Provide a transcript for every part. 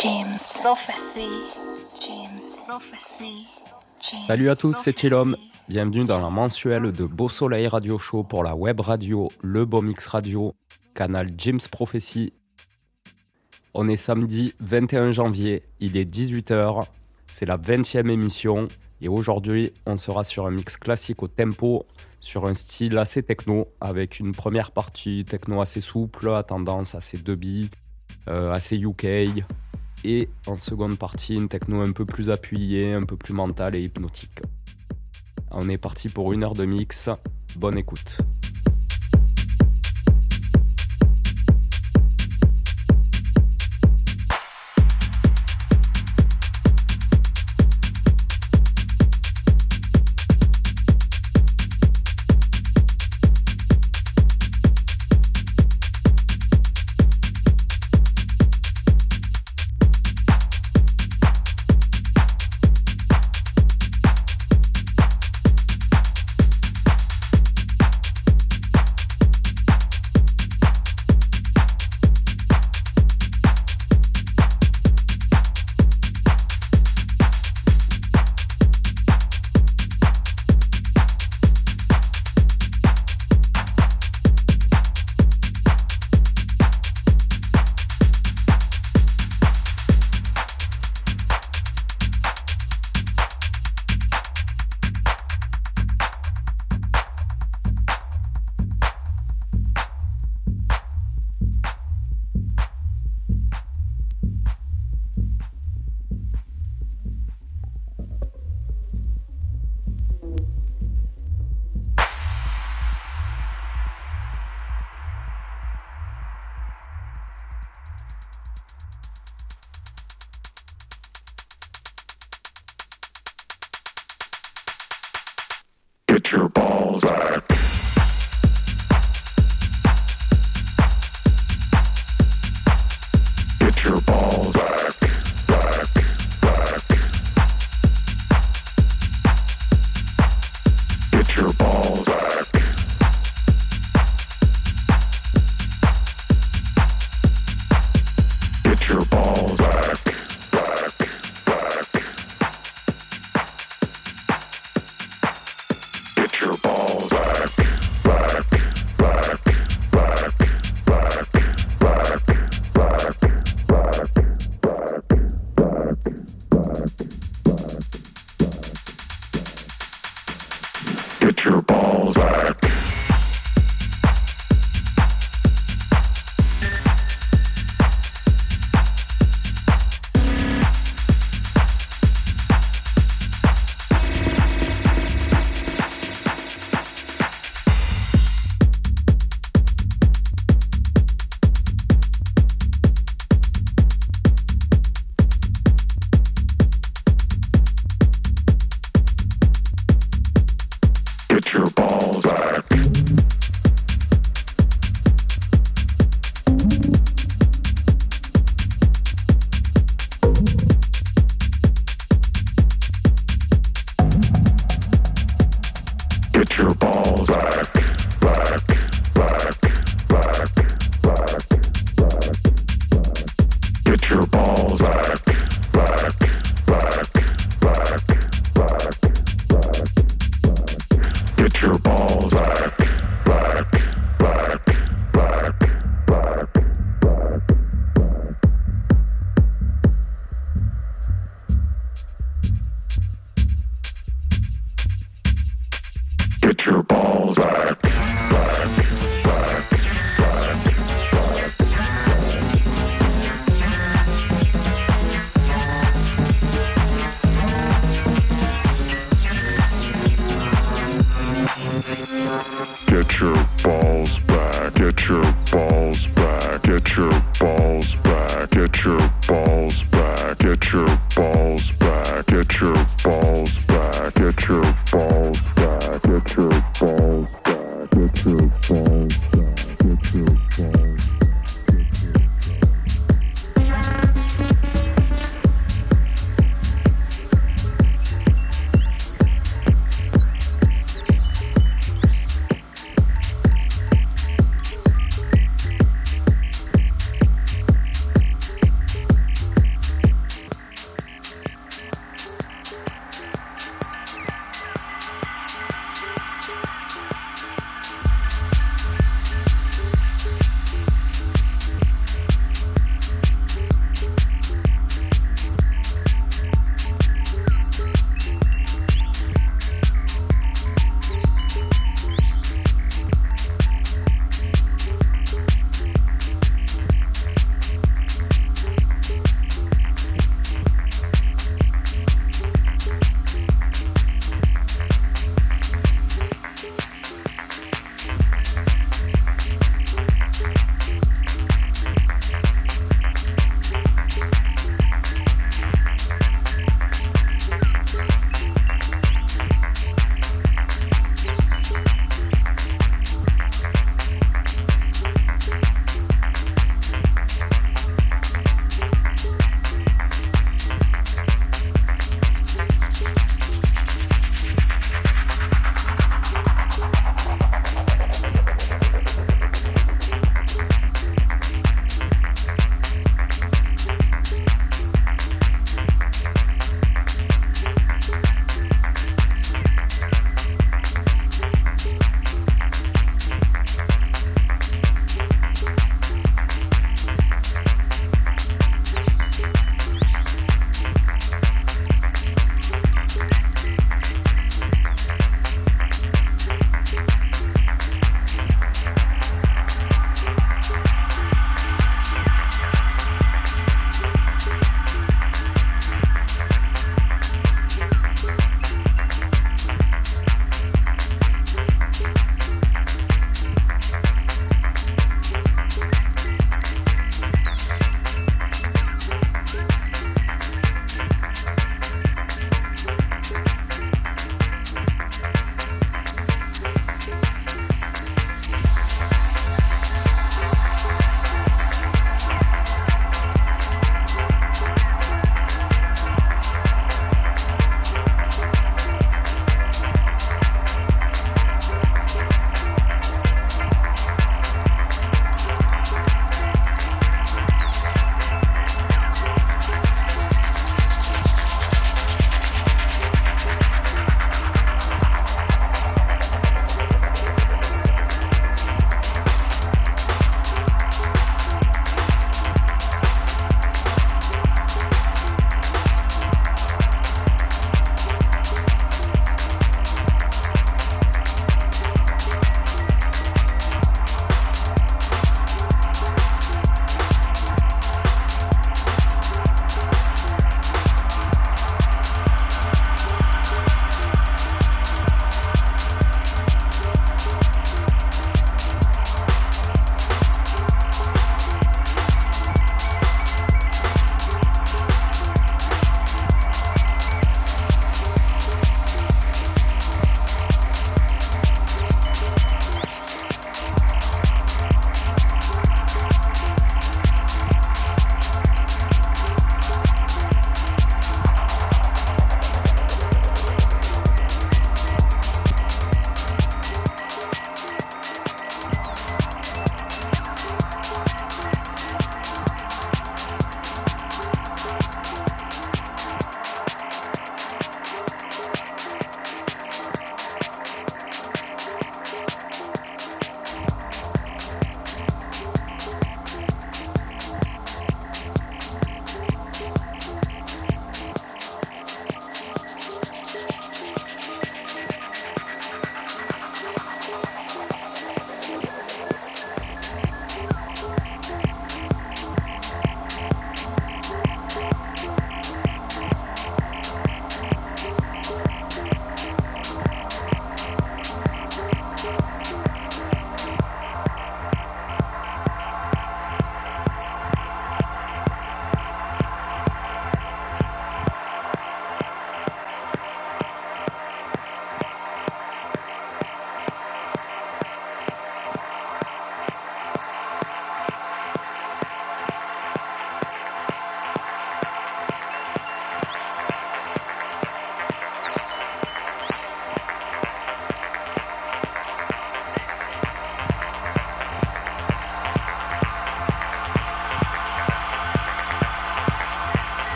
James Prophecy. James Prophecy. Salut à tous, c'est Chillom. Bienvenue dans la mensuelle de Beau Soleil Radio Show pour la web radio Le Beau Mix Radio, canal James Prophecy. On est samedi 21 janvier, il est 18h, c'est la 20e émission et aujourd'hui on sera sur un mix classique au tempo, sur un style assez techno avec une première partie techno assez souple, à tendance assez dubby, assez UK et en seconde partie une techno un peu plus appuyée, un peu plus mentale et hypnotique. On est parti pour 1 heure de mix, bonne écoute. Get your balls back. Get your balls back, back, back. Get your balls back. Get your balls back, back, back. Get your balls back, back, back, back, back, back, back, back, back. Get your balls back. Get your balls back. Get your balls back, back, back, back, back, back. Get your balls back, back, back, back, back, back. Get your balls back, back, back, back, back, back. Get your balls back, back, back, back, back. Get your balls back, get your balls back, get your balls back, get your balls back, get your balls back, get your balls back, get your balls back, get your balls back, get your balls back, get your balls.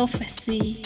prophecy.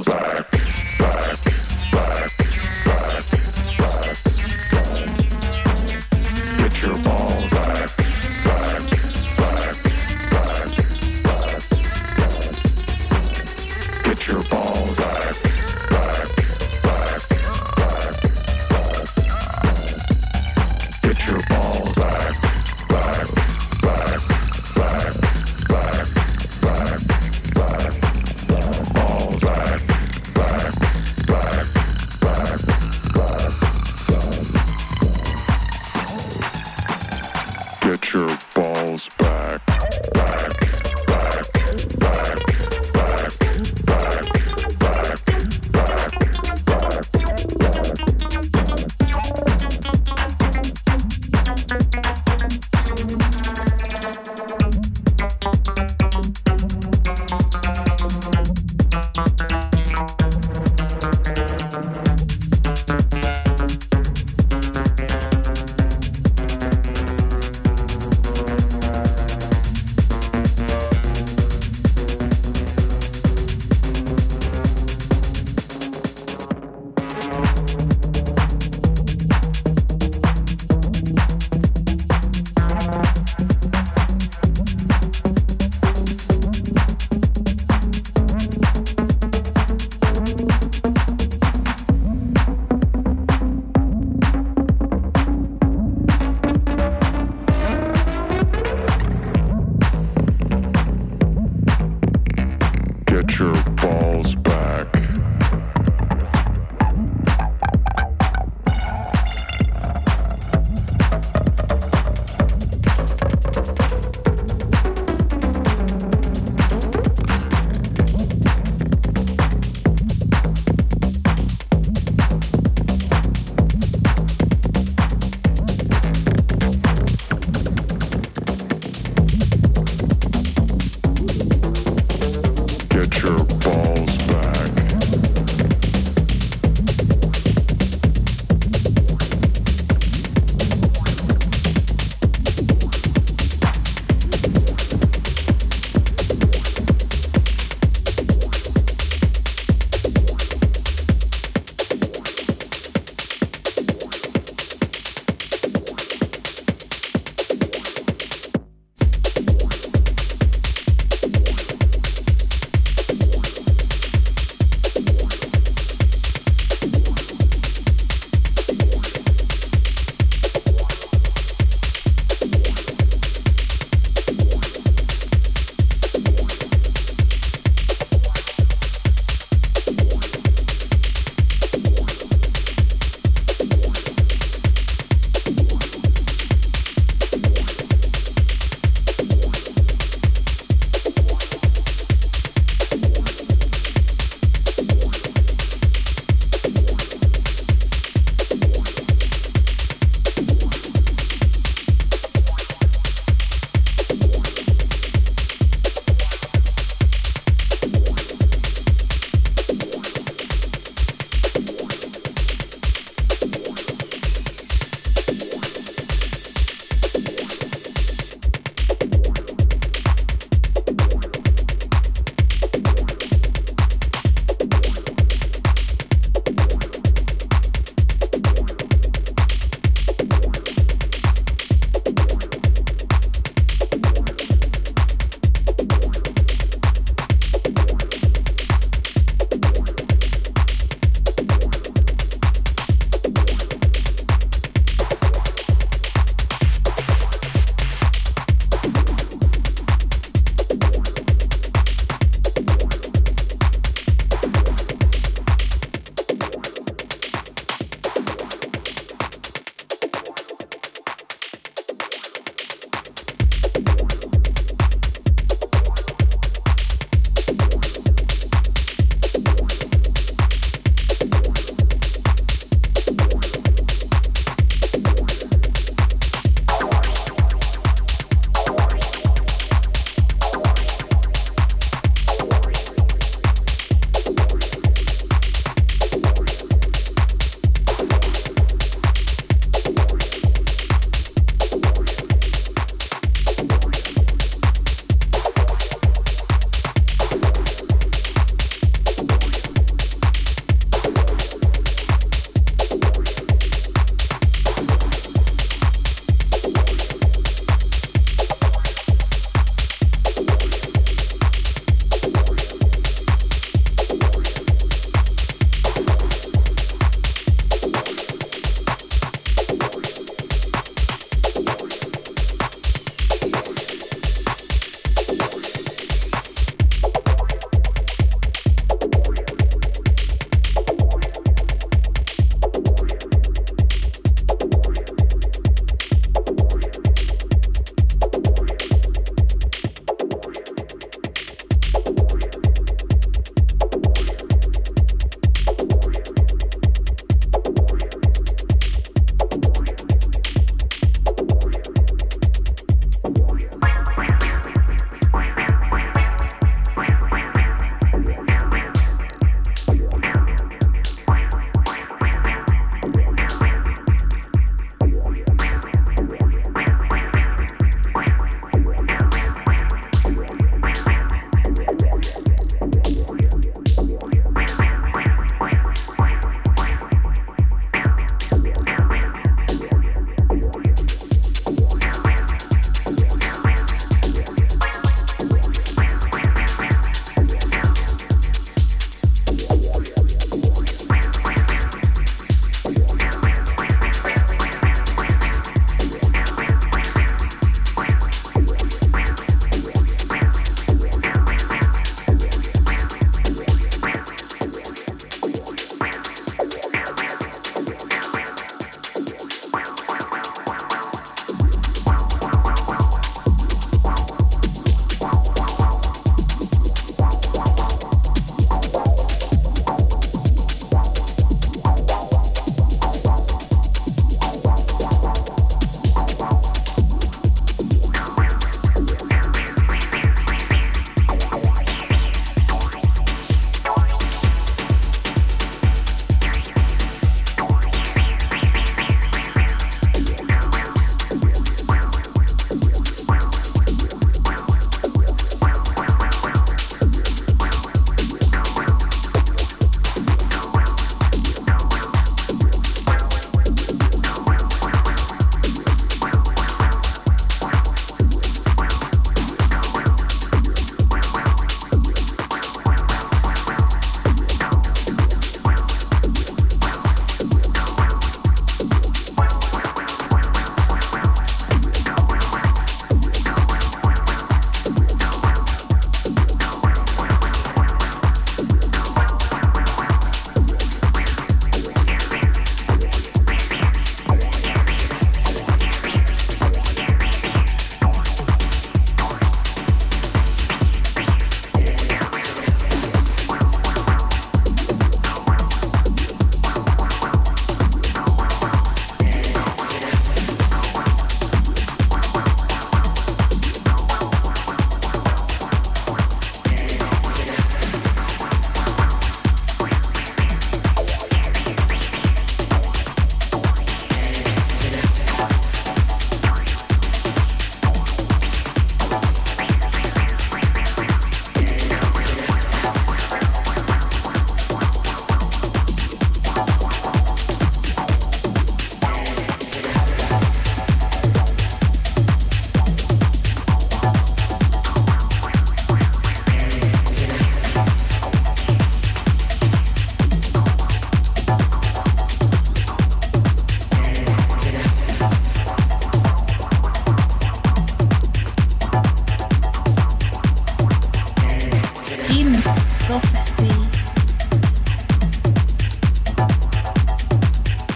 balls back, back, back, back, back. Get your balls back, back, back, back, back. Get your balls back, back, back, back, back. Get your balls back, back, back, back, back, back, back. Balls back, back, back, back, back, back. Get your balls back, back, back, back, back, back, back, back.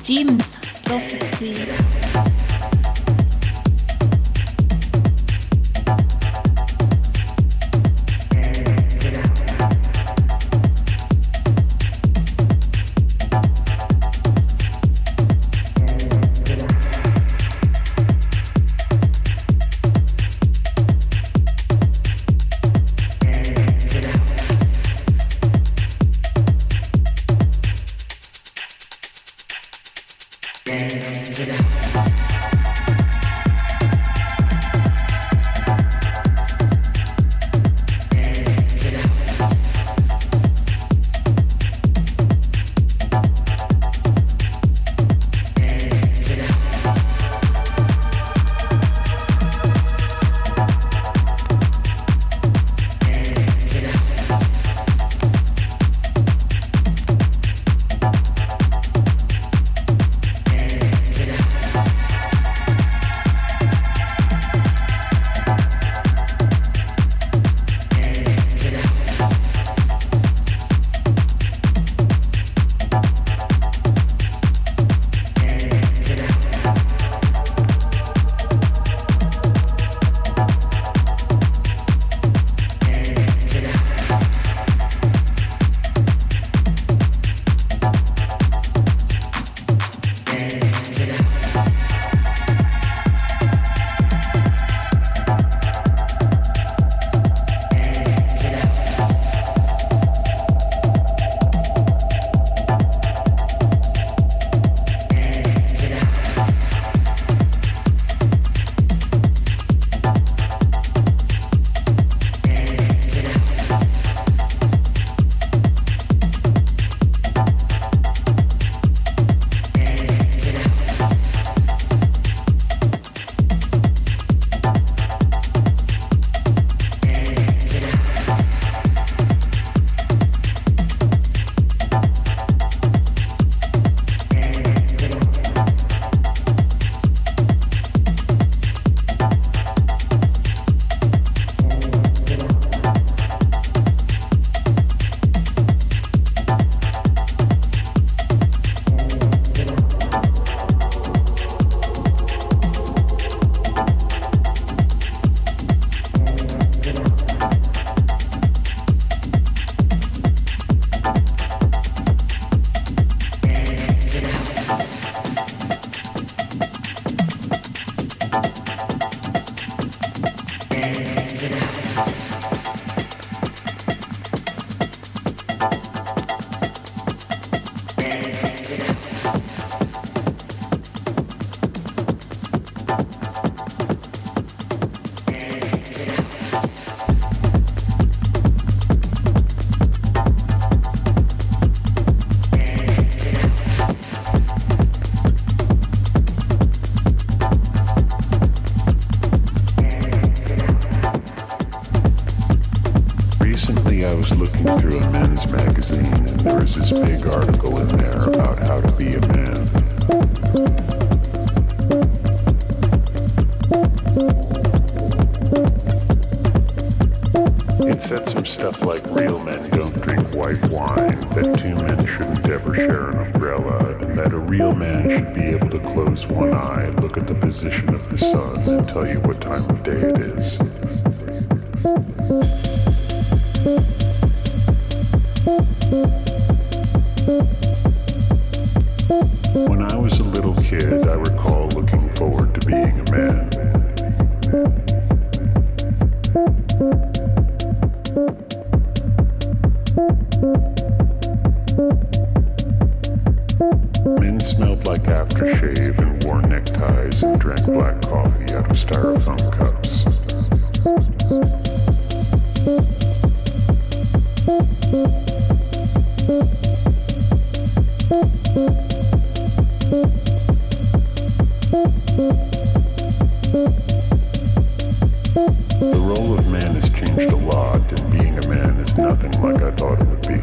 Jim's Prophecy. I was looking through a men's magazine, and there was this big article in there about how to be a man. It said some stuff like real men don't drink white wine, that two men shouldn't ever share an umbrella, and that a real man should be able to close one eye, look at the position of the sun, and tell you what time of day it is. When I was a little kid, I recall looking forward to being a man. Men smelled like aftershave and wore neckties and drank black coffee out of styrofoam cups. The role of man has changed a lot, and being a man is nothing like I thought it would be.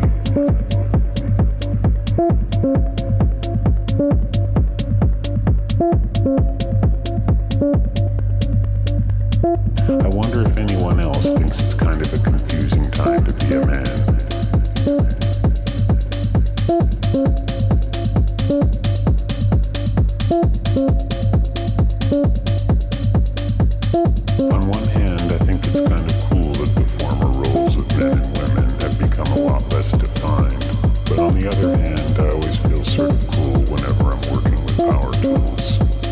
I wonder if anyone else thinks it's kind of a confusing time to be a man. the other hand, I always feel sort of cool whenever I'm working with power tools.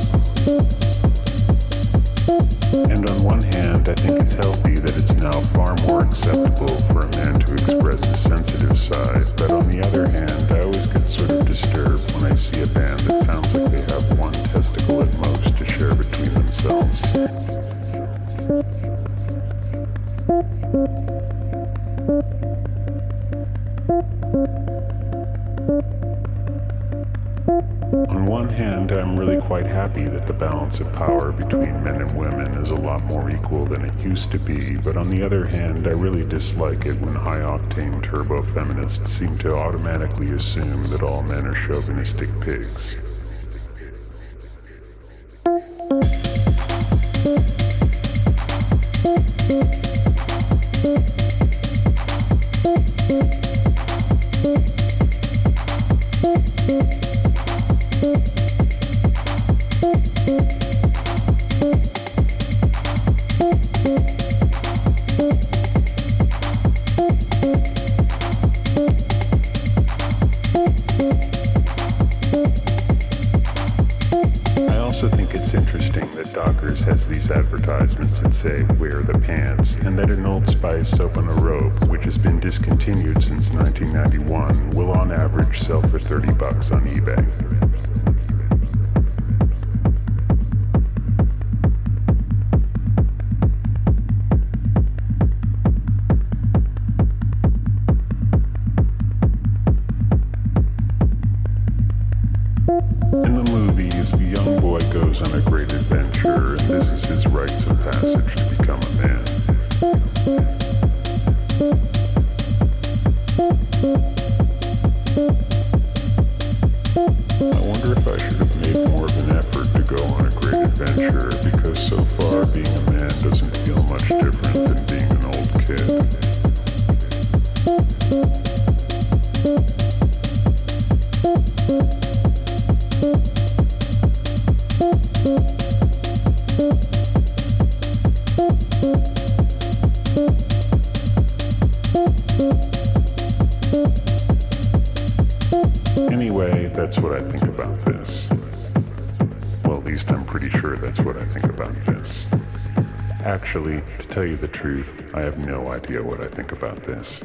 And on one hand, I think it's healthy that it's now far more acceptable for a man to express his sensitive side, but on the other hand, I always get sort of disturbed when I see a band that sounds like they have one testicle at most to share between themselves. On one hand, I'm really quite happy that the balance of power between men and women is a lot more equal than it used to be, but on the other hand, I really dislike it when high-octane turbo-feminists seem to automatically assume that all men are chauvinistic pigs. Has these advertisements that say, wear the pants, and that an Old Spice soap on a rope, which has been discontinued since 1991, will on average sell for $30 on eBay. In the movies, the young boy goes on a great adventure, and this is his rites of passage to become a man. I wonder if I should have made more of an effort to go on a great adventure, because so far being a man doesn't feel much different than being an old kid. Anyway, that's what I think about this. Well, at least I'm pretty sure that's what I think about this. Actually, to tell you the truth, I have no idea what I think about this.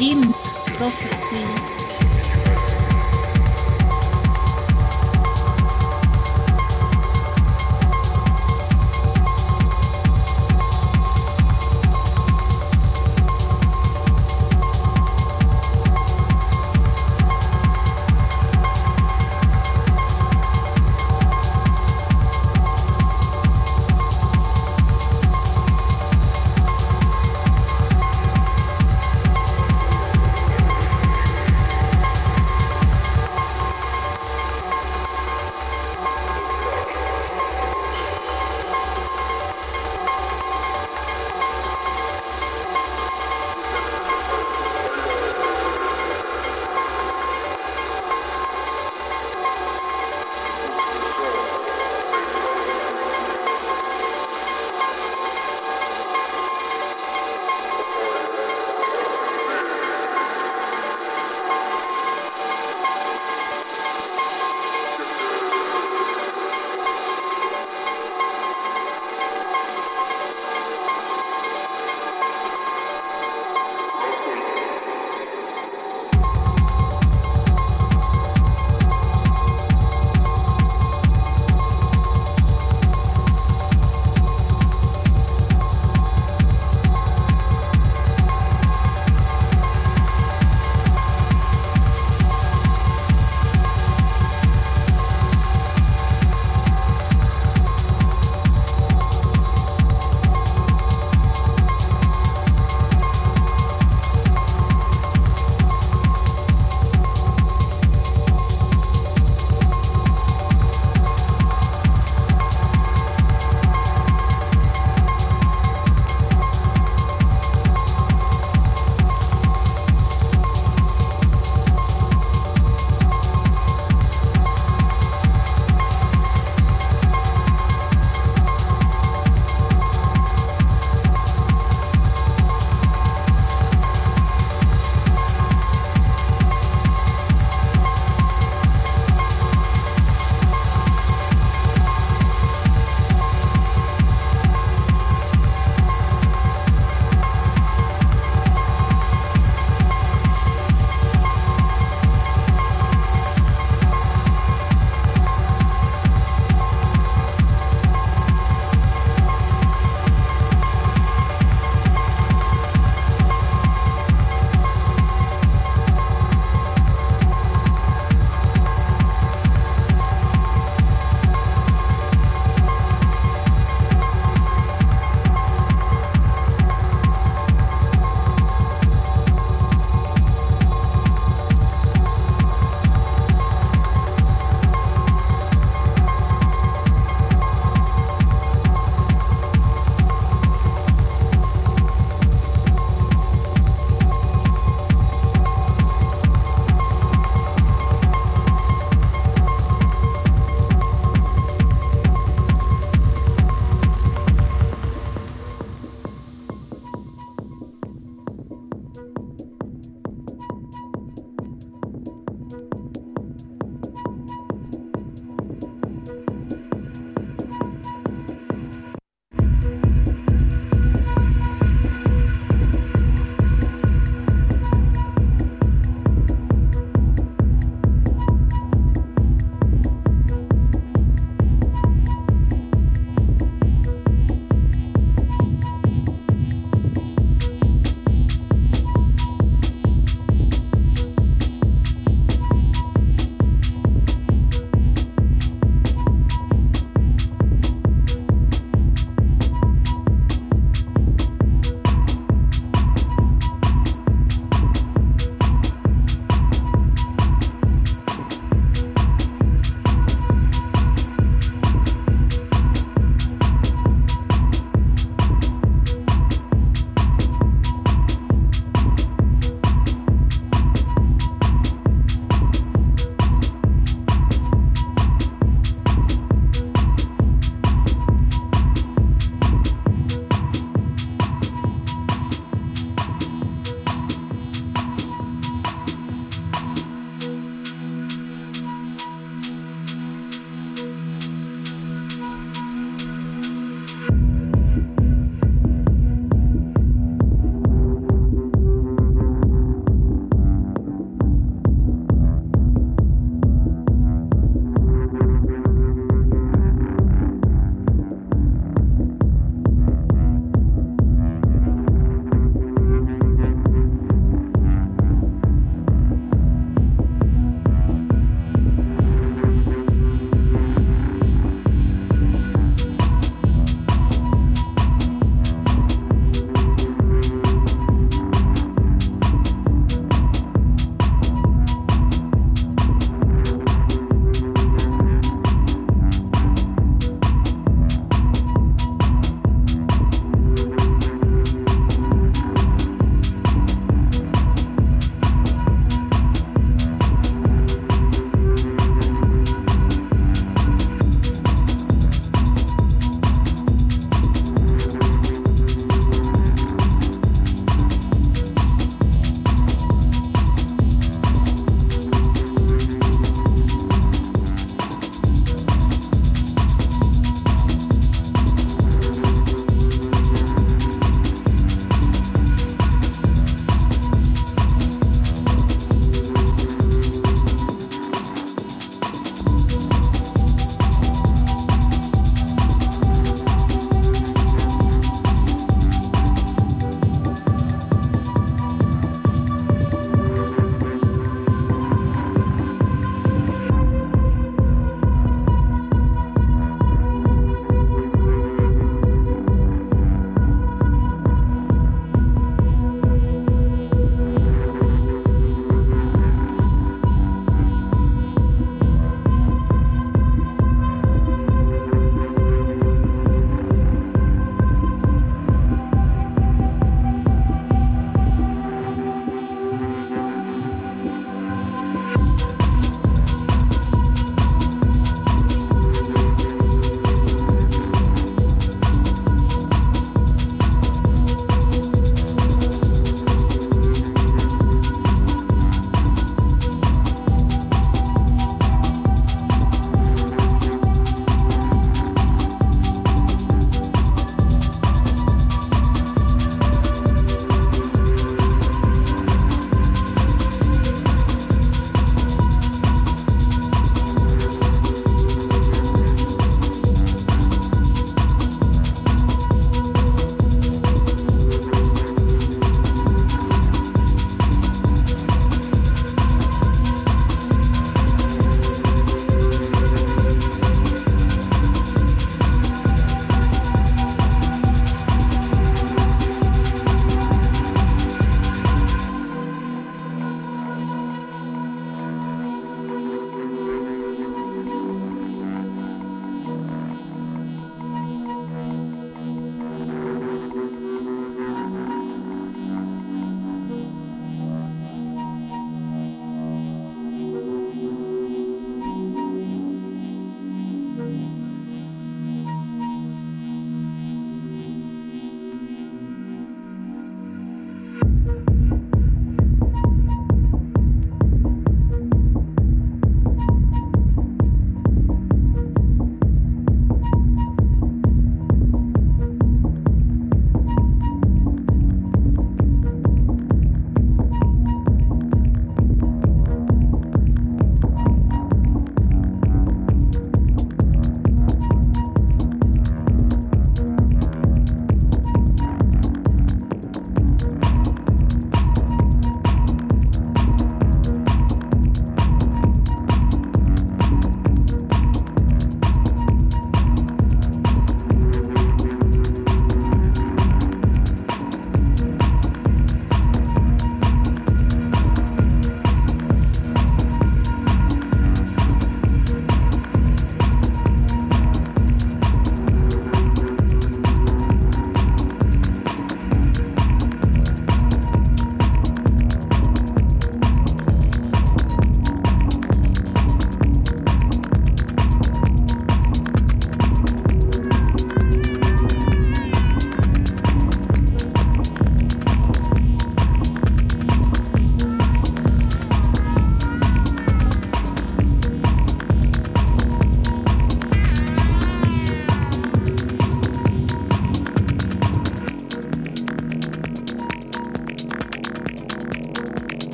Jim's Prophecy.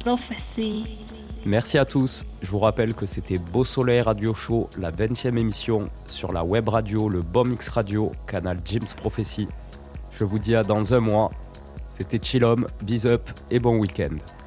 Prophecy. Merci à tous. Je vous rappelle que c'était Beau Soleil Radio Show, la 20e émission sur la web radio, le BOMX Radio, canal Jim's Prophecy. Je vous dis à dans un mois. C'était Chillom, bis up et bon week-end.